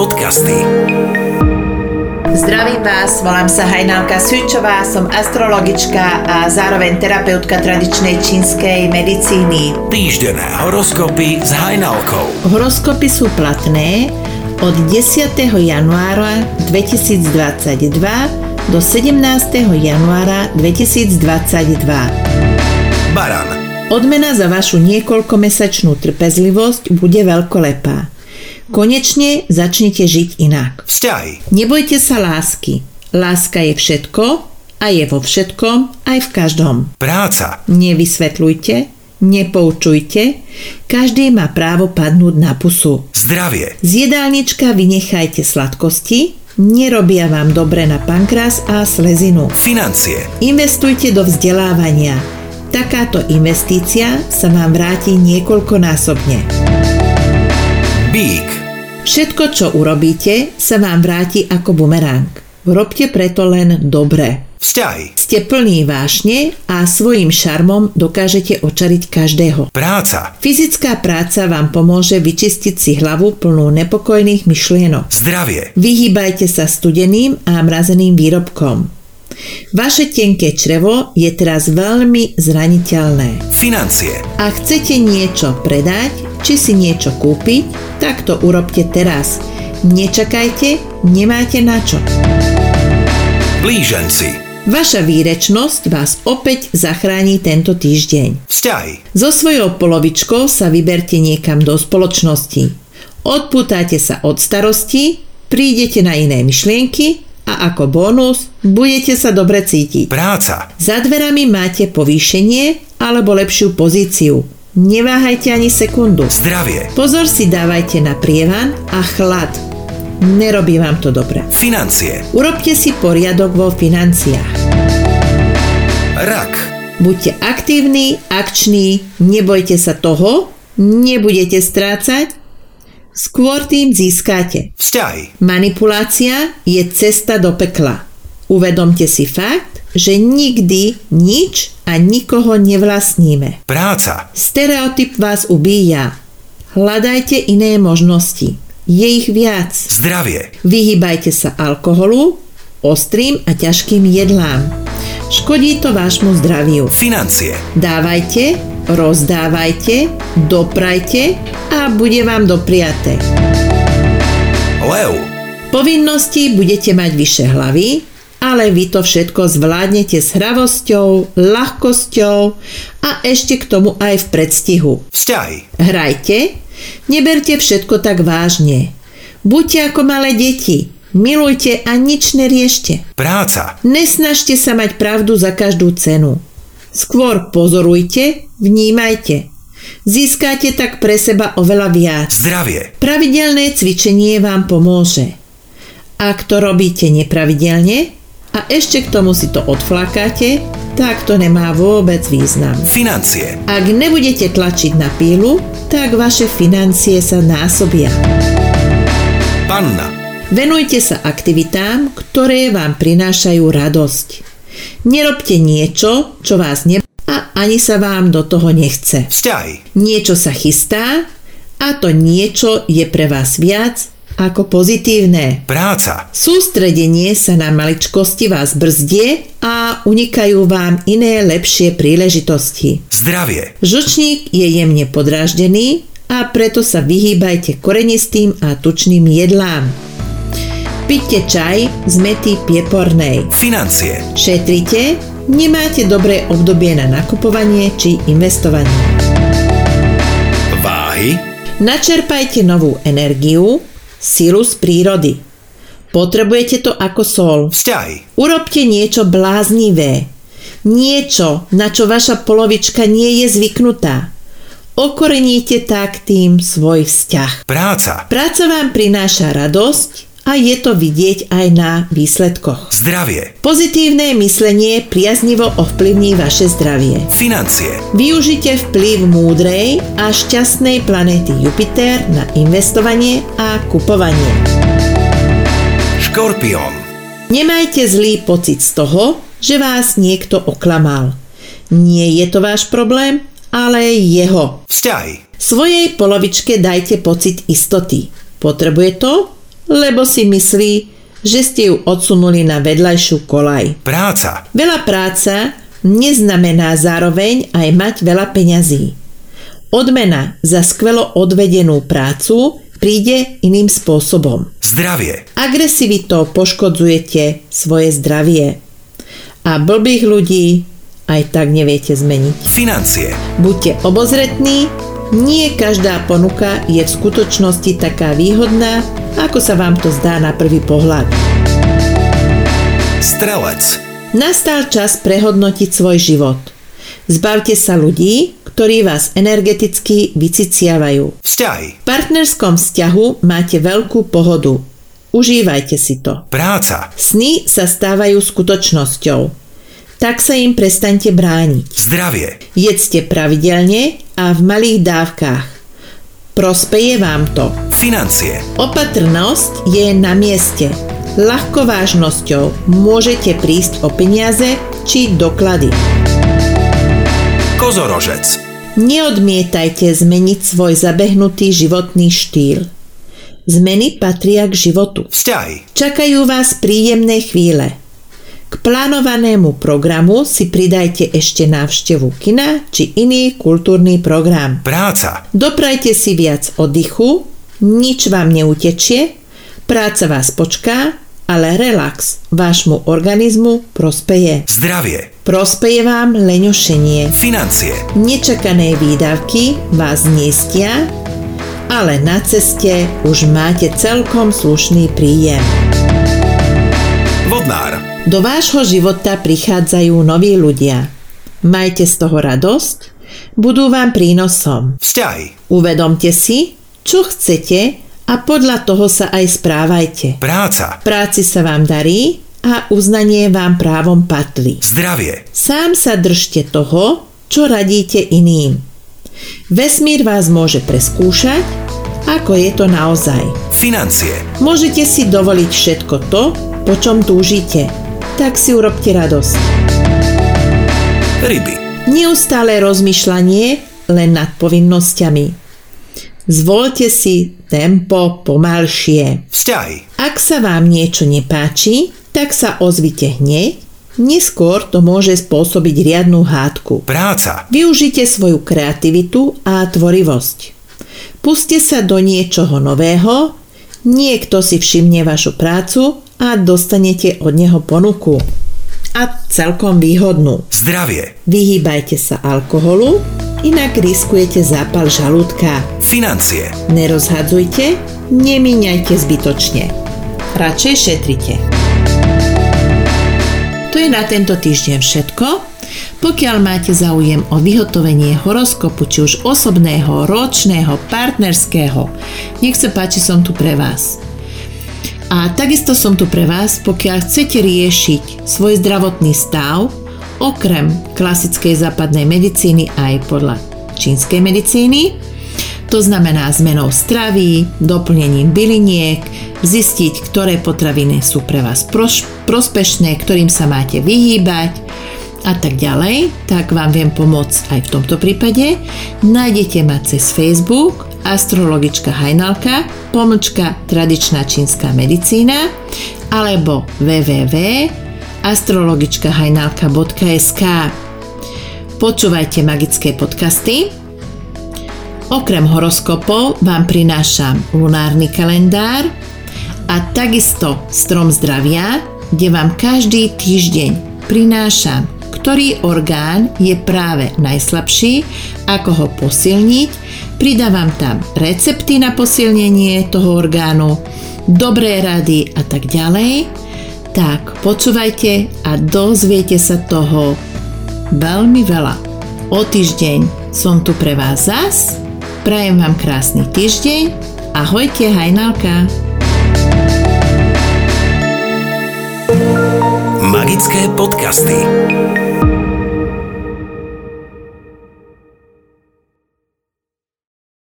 Podcasty. Zdravím vás, volám sa Hajnalka Sučová, som astrologička a zároveň terapeutka tradičnej čínskej medicíny. Týždenné horoskopy s Hajnalkou. Horoskopy sú platné od 10. januára 2022 do 17. januára 2022. Baran. Odmena za vašu niekoľkomesačnú trpezlivosť bude veľkolepá. Konečne začnite žiť inak. Vzťahy. Nebojte sa lásky. Láska je všetko a je vo všetkom aj v každom. Práca. Nevysvetľujte, nepoučujte, každý má právo padnúť na pusu. Zdravie. Z jedálnička vynechajte sladkosti, nerobia vám dobre na pankrás a slezinu. Financie. Investujte do vzdelávania. Takáto investícia sa vám vráti niekoľkonásobne. Bík. Všetko, čo urobíte, sa vám vráti ako bumerang. Robte preto len dobre. Vzťahy. Ste plní vášne a svojím šarmom dokážete očariť každého. Práca. Fyzická práca vám pomôže vyčistiť si hlavu plnú nepokojných myšlienok. Zdravie. Vyhýbajte sa studeným a mrazeným výrobkom. Vaše tenké črevo je teraz veľmi zraniteľné. Financie. Ak chcete niečo predať, či si niečo kúpiť, tak to urobte teraz. Nečakajte, nemáte na čo. Blíženci. Vaša výrečnosť vás opäť zachráni tento týždeň. Vzťahy. So svojou polovičkou sa vyberte niekam do spoločnosti. Odpútate sa od starosti, prídete na iné myšlienky a ako bonus budete sa dobre cítiť. Práca. Za dverami máte povýšenie alebo lepšiu pozíciu. Neváhajte ani sekundu. Zdravie. Pozor si dávajte na prievan a chlad. Nerobí vám to dobre. Financie. Urobte si poriadok vo financiách. Rak. Buďte aktívni, akční, nebojte sa toho, nebudete strácať, skôr tým získate. Vzťahy. Manipulácia je cesta do pekla. Uvedomte si fakt, že nikdy nič a nikoho nevlastníme. Práca. Stereotyp vás ubíja. Hľadajte iné možnosti. Je ich viac. Zdravie. Vyhýbajte sa alkoholu, ostrým a ťažkým jedlám. Škodí to vášmu zdraviu. Financie. Dávajte, rozdávajte, doprajte a bude vám dopriaté. Lev. Povinnosti budete mať vyššie hlavy, ale vy to všetko zvládnete s hravosťou, ľahkosťou a ešte k tomu aj v predstihu. Vzťahy. Hrajte, neberte všetko tak vážne. Buďte ako malé deti, milujte a nič neriešte. Práca. Nesnažte sa mať pravdu za každú cenu. Skôr pozorujte, vnímajte. Získate tak pre seba oveľa viac. Zdravie. Pravidelné cvičenie vám pomôže. Ak to robíte nepravidelne a ešte k tomu si to odflakáte, tak to nemá vôbec význam. Financie. Ak nebudete tlačiť na pílu, tak vaše financie sa násobia. Panna. Venujte sa aktivitám, ktoré vám prinášajú radosť. Nerobte niečo, čo vás a ani sa vám do toho nechce. Vzťahy. Niečo sa chystá a to niečo je pre vás viac ako pozitívne. Práca. Sústredenie sa na maličkosti vás brzdie a unikajú vám iné lepšie príležitosti. Zdravie. Žlčník je jemne podráždený a preto sa vyhýbajte korenistým a tučným jedlám. Piďte čaj z mäty piepornej. Financie. Šetrite, nemáte dobré obdobie na nakupovanie či investovanie. Váhy. Načerpajte novú energiu, silu z prírody. Potrebujete to ako sol. Vzťahy. Urobte niečo bláznivé. Niečo, na čo vaša polovička nie je zvyknutá. Okoreníte tak tým svoj vzťah. Práca. Práca vám prináša radosť a je to vidieť aj na výsledkoch. Zdravie. Pozitívne myslenie priaznivo ovplyvní vaše zdravie. Financie. Využite vplyv múdrej a šťastnej planéty Jupiter na investovanie a kupovanie. Škorpión. Nemajte zlý pocit z toho, že vás niekto oklamal. Nie je to váš problém, ale jeho. Vzťahy. Svojej polovičke dajte pocit istoty. Potrebuje to lebo si myslí, že ste ju odsunuli na vedľajšiu koľaj. Práca. Veľa práca neznamená zároveň aj mať veľa peňazí. Odmena za skvelo odvedenú prácu príde iným spôsobom. Zdravie. Agresivitou poškodzujete svoje zdravie. A blbých ľudí aj tak neviete zmeniť. Financie. Buďte obozretní, nie každá ponuka je v skutočnosti taká výhodná, ako sa vám to zdá na prvý pohľad. Strelec. Nastal čas prehodnotiť svoj život. Zbavte sa ľudí, ktorí vás energeticky vyciciavajú. Vzťahy. V partnerskom vzťahu máte veľkú pohodu. Užívajte si to. Práca. Sny sa stávajú skutočnosťou. Tak sa im prestaňte brániť. Zdravie. Jedzte pravidelne a v malých dávkach. Prospeje vám to. Financie. Opatrnosť je na mieste. Ľahkovážnosťou môžete prísť o peniaze či doklady. Kozorožec. Neodmietajte zmeniť svoj zabehnutý životný štýl. Zmeny patria k životu. Vzťahy. Čakajú vás príjemné chvíle. K plánovanému programu si pridajte ešte návštevu kina či iný kultúrny program. Práca. Doprajte si viac oddychu, nič vám neutečie, práca vás počká, ale relax vášmu organizmu prospeje. Zdravie. Prospeje vám leňošenie. Financie. Nečakané výdavky vás zniestia, ale na ceste už máte celkom slušný príjem. Vodnár. Do vášho života prichádzajú noví ľudia. Majte z toho radosť, budú vám prínosom. Vzťahy. Uvedomte si, čo chcete a podľa toho sa aj správajte. Práca. Práci sa vám darí a uznanie vám právom patrí. Zdravie. Sám sa držte toho, čo radíte iným. Vesmír vás môže preskúšať, ako je to naozaj. Financie. Môžete si dovoliť všetko to, po čom túžite. Tak si urobte radosť. Ryby. Neustále rozmýšľanie len nad povinnosťami. Zvoľte si tempo pomalšie. Vzťahy. Ak sa vám niečo nepáči, tak sa ozvite hneď, neskôr to môže spôsobiť riadnu hádku. Práca. Využite svoju kreativitu a tvorivosť. Puste sa do niečoho nového, niekto si všimne vašu prácu a dostanete od neho ponuku. A celkom výhodnú. Zdravie. Vyhýbajte sa alkoholu, inak riskujete zápal žalúdka. Financie. Nerozhadzujte, nemíňajte zbytočne. Radšej šetrite. To je na tento týždeň všetko. Pokiaľ máte záujem o vyhotovenie horoskopu, či už osobného, ročného, partnerského, nech sa páči, som tu pre vás. A takisto som tu pre vás, pokiaľ chcete riešiť svoj zdravotný stav, okrem klasickej západnej medicíny aj podľa čínskej medicíny, to znamená zmenou stravy, doplnením byliniek, zistiť, ktoré potraviny sú pre vás prospešné, ktorým sa máte vyhýbať a tak ďalej, tak vám viem pomôcť aj v tomto prípade. Nájdete ma cez Facebook astrologička Hajnalka / tradičná čínska medicína alebo www.astrologičkahajnalka.sk. Počúvajte magické podcasty. Okrem horoskopov vám prinášam lunárny kalendár a takisto strom zdravia, kde vám každý týždeň prinášam, ktorý orgán je práve najslabší, ako ho posilniť. Pridávam tam recepty na posilnenie toho orgánu, dobré rady a tak ďalej. Tak počúvajte a dozviete sa toho veľmi veľa. O týždeň som tu pre vás zas. Prajem vám krásny týždeň. Ahojte, Hajnalka. Magické podcasty.